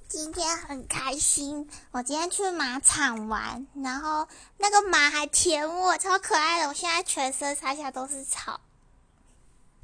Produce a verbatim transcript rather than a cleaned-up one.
今天很开心，我今天去马场玩，然后那个马还舔我，超可爱的。我现在全身上下都是草。